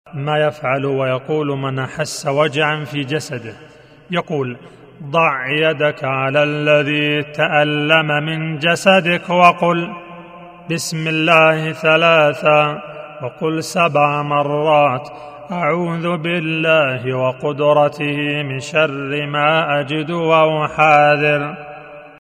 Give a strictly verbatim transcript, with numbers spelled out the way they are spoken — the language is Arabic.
ما يفعل ويقول من أحس وجعا في جسده، يقول: ضع يدك على الذي تألم من جسدك وقل بسم الله ثلاثا، وقل سبع مرات أعوذ بالله وقدرته من شر ما أجد وأحاذر.